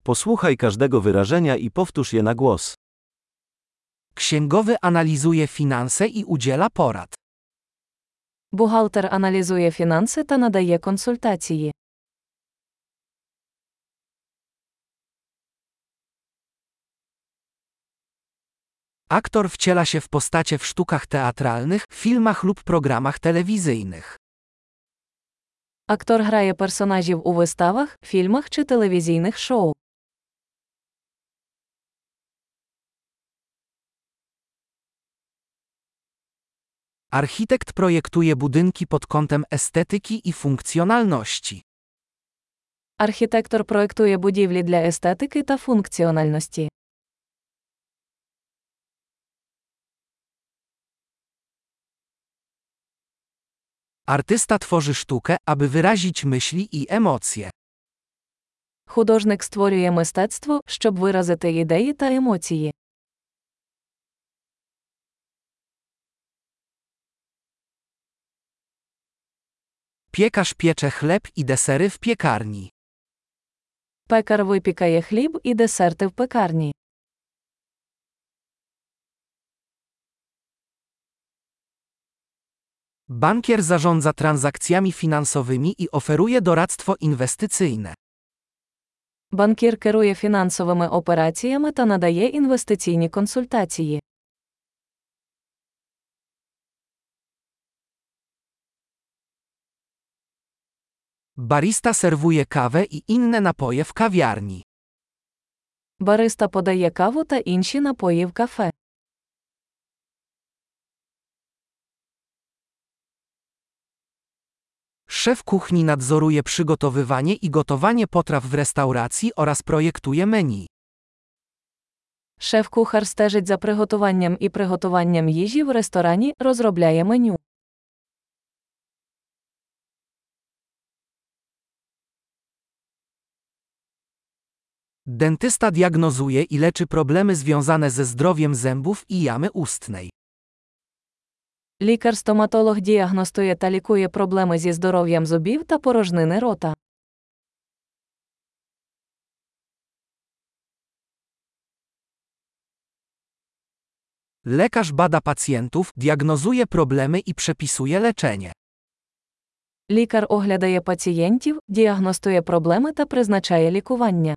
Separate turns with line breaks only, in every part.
Posłuchaj każdego wyrażenia i powtórz je na głos.
Księgowy analizuje finanse i udziela porad.
Бухгалтер аналізує фінанси та надає консультації.
Aktor wciela się w postacie w sztukach teatralnych, filmach lub programach telewizyjnych.
Актор грає персонажів у виставах, фільмах чи телевізійних шоу.
Architekt projektuje budynki pod kątem estetyki i funkcjonalności.
Архітектор проектує будівлі для естетики та функціональності.
Artysta tworzy sztukę, aby wyrazić myśli i emocje.
Художник створює мистецтво, щоб виразити ідеї та емоції.
Piekarz piecze chleb i desery w piekarni.
Пекар випікає хліб і десерти в пекарні.
Bankier zarządza transakcjami finansowymi i oferuje doradztwo inwestycyjne.
Банкір керує фінансовими операціями та надає інвестиційні консультації.
Barista serwuje kawę i inne napoje w kawiarni.
Бариста подає каву та інші напої в кафе.
Szef kuchni nadzoruje przygotowywanie i gotowanie potraw w restauracji oraz projektuje menu.
Шеф-кухар стежить за приготуванням і приготуванням їжі в ресторані, розробляє меню.
Dentysta diagnozuje i leczy problemy związane ze zdrowiem zębów i jamy ustnej.
Лікар-стоматолог діагностує та лікує проблеми зі здоров'ям зубів та порожнини рота.
Lekarz bada pacjentów, diagnozuje problemy i przepisuje leczenie.
Лікар оглядає пацієнтів, діагностує проблеми та призначає лікування.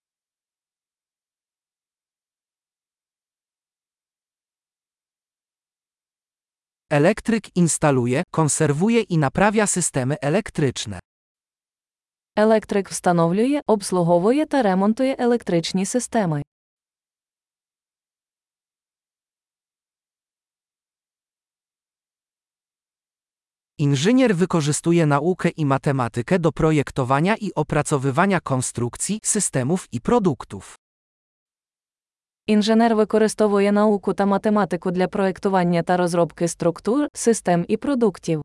Elektryk instaluje, konserwuje i naprawia systemy elektryczne.
Електрик встановлює, обслуговує та ремонтує електричні системи.
Inżynier wykorzystuje naukę i matematykę do projektowania i opracowywania konstrukcji, systemów i produktów.
Інженер використовує науку та математику для проєктування та розробки структур, систем і продуктів.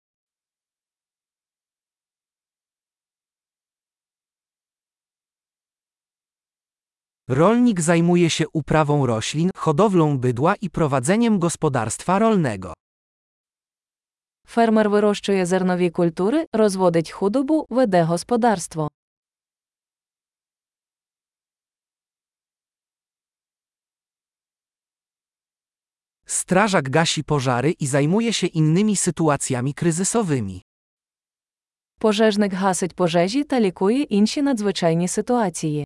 Rolnik zajmuje się uprawą roślin, hodowlą bydła i prowadzeniem gospodarstwa rolnego.
Фермер вирощує зернові культури, розводить худобу, веде господарство.
Strażak gasi pożary i zajmuje się innymi sytuacjami kryzysowymi.
Пожежник гасить пожежі та лікує інші надзвичайні ситуації.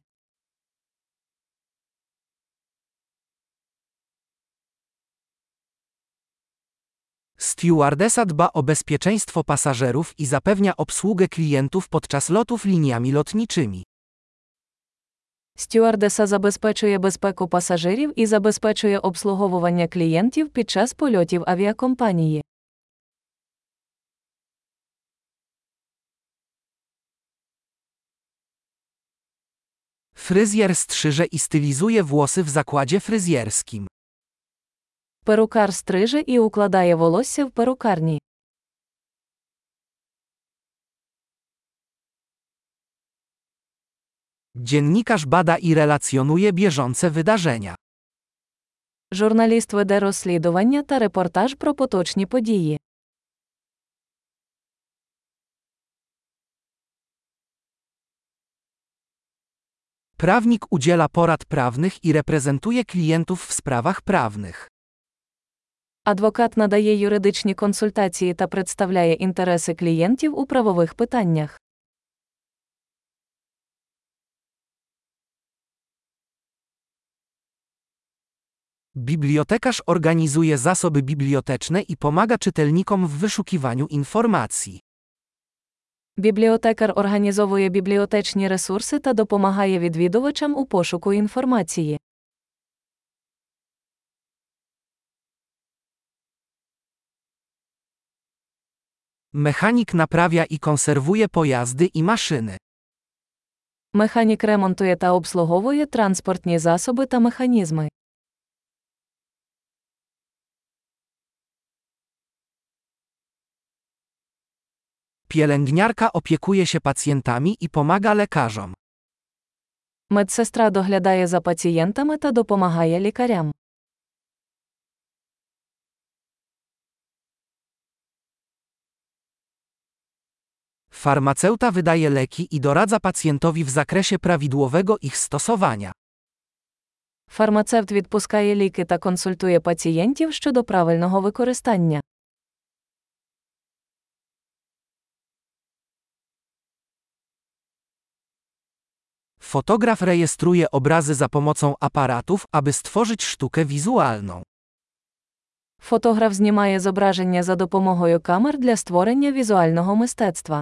Stewardesa dba o bezpieczeństwo pasażerów i zapewnia obsługę klientów podczas lotów liniami lotniczymi.
Стюардеса забезпечує безпеку пасажирів і забезпечує обслуговування клієнтів під час польотів авіакомпанії.
Fryzjer strzyże i stylizuje włosy w zakładzie fryzjerskim.
Перукар стриже і укладає волосся в перукарні.
Dziennikarz bada i relacjonuje bieżące wydarzenia.
Журналіст веде розслідування та репортаж про поточні події.
Prawnik udziela porad prawnych i reprezentuje klientów w sprawach prawnych.
Адвокат надає юридичні консультації та представляє інтереси клієнтів у правових питаннях.
Bibliotekarz organizuje zasoby biblioteczne i pomaga czytelnikom w wyszukiwaniu informacji.
Бібліотекар організовує бібліотечні ресурси та допомагає відвідувачам у пошуку інформації.
Mechanik naprawia i konserwuje pojazdy i maszyny.
Механік ремонтує та обслуговує транспортні засоби та механізми.
Pielęgniarka opiekuje się pacjentami i pomaga lekarzom.
Медсестра доглядає за пацієнтами та допомагає лікарям.
Farmaceuta wydaje leki i doradza pacjentowi w zakresie prawidłowego ich stosowania.
Фармацевт відпускає ліки та консультує пацієнтів щодо правильного використання.
Fotograf rejestruje obrazy za pomocą aparatów, aby stworzyć sztukę wizualną.
Фотограф знімає зображення за допомогою камер для створення візуального мистецтва.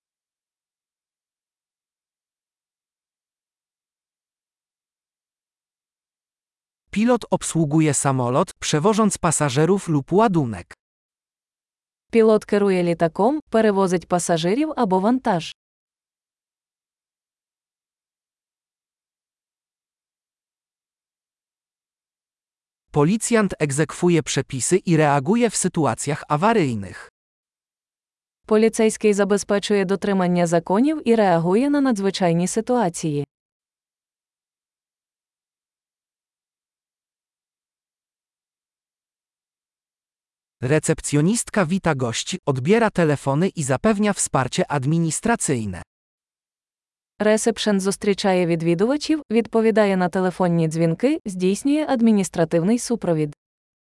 Pilot obsługuje samolot, przewożąc pasażerów lub ładunek.
Пілот керує літаком, перевозить пасажирів або вантаж.
Policjant egzekwuje przepisy i reaguje w sytuacjach awaryjnych.
Поліцейський забезпечує дотримання законів і реагує на надзвичайні ситуації.
Recepcjonistka wita gości, odbiera telefony i zapewnia wsparcie administracyjne.
Ресепшен зустрічає відвідувачів, відповідає на телефонні дзвінки, здійснює адміністративний супровід.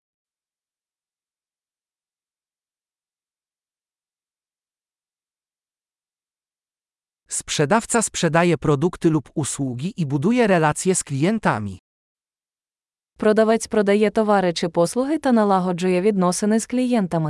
Sprzedawca sprzedaje produkty lub usługi i buduje relacje z klientami.
Продавець продає товари чи послуги та налагоджує відносини з клієнтами.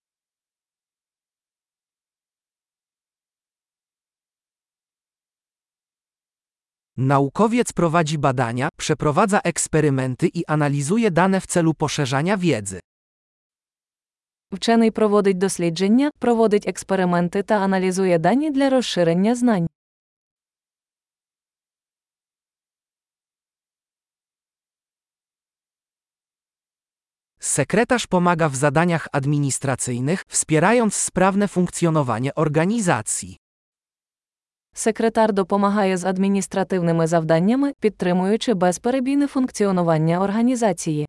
Naukowiec prowadzi badania, przeprowadza eksperymenty i analizuje dane w celu poszerzania wiedzy.
Вчений проводить дослідження, проводить експерименти та аналізує дані для розширення знань.
Sekretarz pomaga w zadaniach administracyjnych, wspierając sprawne funkcjonowanie organizacji.
Секретар допомагає з адміністративними завданнями, підтримуючи безперебійне функціонування організації.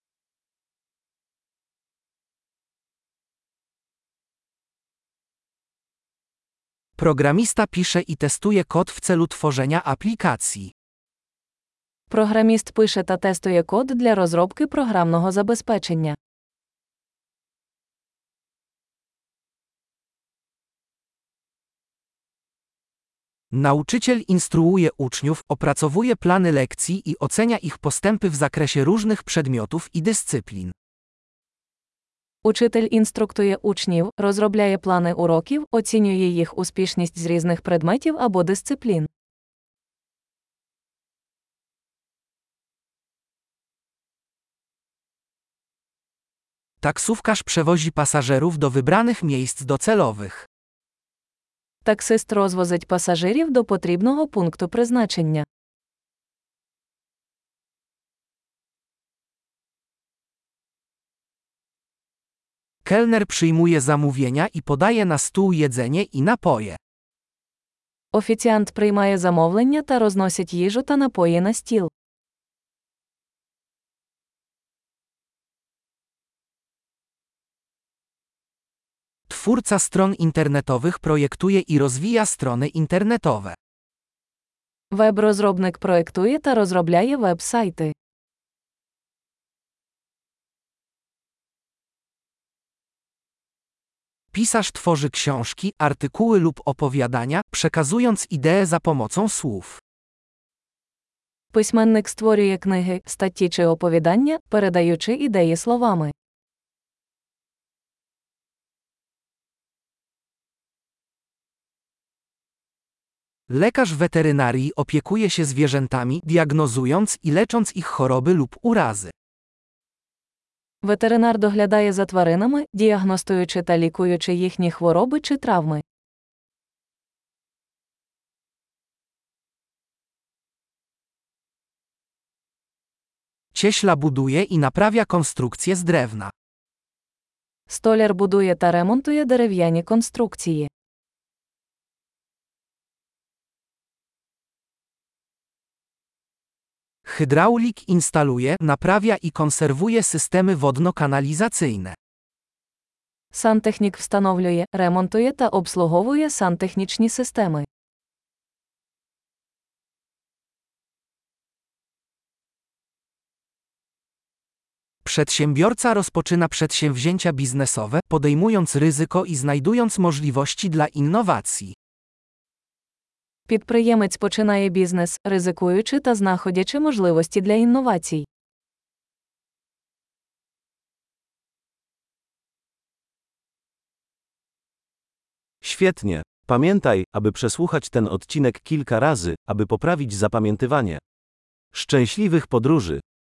Programista pisze i testuje kod w celu tworzenia aplikacji.
Програміст пише та тестує код для розробки програмного забезпечення.
Nauczyciel instruuje uczniów, opracowuje plany lekcji i ocenia ich postępy w zakresie różnych przedmiotów i dyscyplin.
Учитель інструктує учнів, розробляє плани уроків, оцінює їх успішність з різних предметів або дисциплін.
Taksówkarz przewozi pasażerów do wybranych miejsc docelowych.
Таксист розвозить пасажирів до потрібного пункту призначення.
Kelner przyjmuje zamówienia i podaje na stół jedzenie i napoje.
Офіціант приймає замовлення та розносить їжу та напої на стіл.
Twórca stron internetowych projektuje i rozwija strony internetowe.
Веб-розробник проектує та розробляє веб-сайти.
Pisarz tworzy książki, artykuły lub opowiadania, przekazując ideę za pomocą słów.
Письменник створює книги, статті чи оповідання, передаючи ідеї словами.
Lekarz weterynarii opiekuje się zwierzętami, diagnozując i lecząc ich choroby lub urazy.
Ветеринар доглядає за тваринами, діагностуючи та лікуючи їхні хвороби чи травми.
Cieśla buduje i naprawia konstrukcje z drewna.
Столяр будує та ремонтує дерев'яні конструкції.
Hydraulik instaluje, naprawia i konserwuje systemy wodno-kanalizacyjne.
Сантехнік встановлює, ремонтує та обслуговує сантехнічні системи.
Przedsiębiorca rozpoczyna przedsięwzięcia biznesowe, podejmując ryzyko i znajdując możliwości dla innowacji.
Підприємець починає бізнес, ризикуючи та знаходячи можливості для інновацій.
Świetnie. Pamiętaj, aby przesłuchać ten odcinek kilka razy, aby poprawić zapamiętywanie. Szczęśliwych podróży!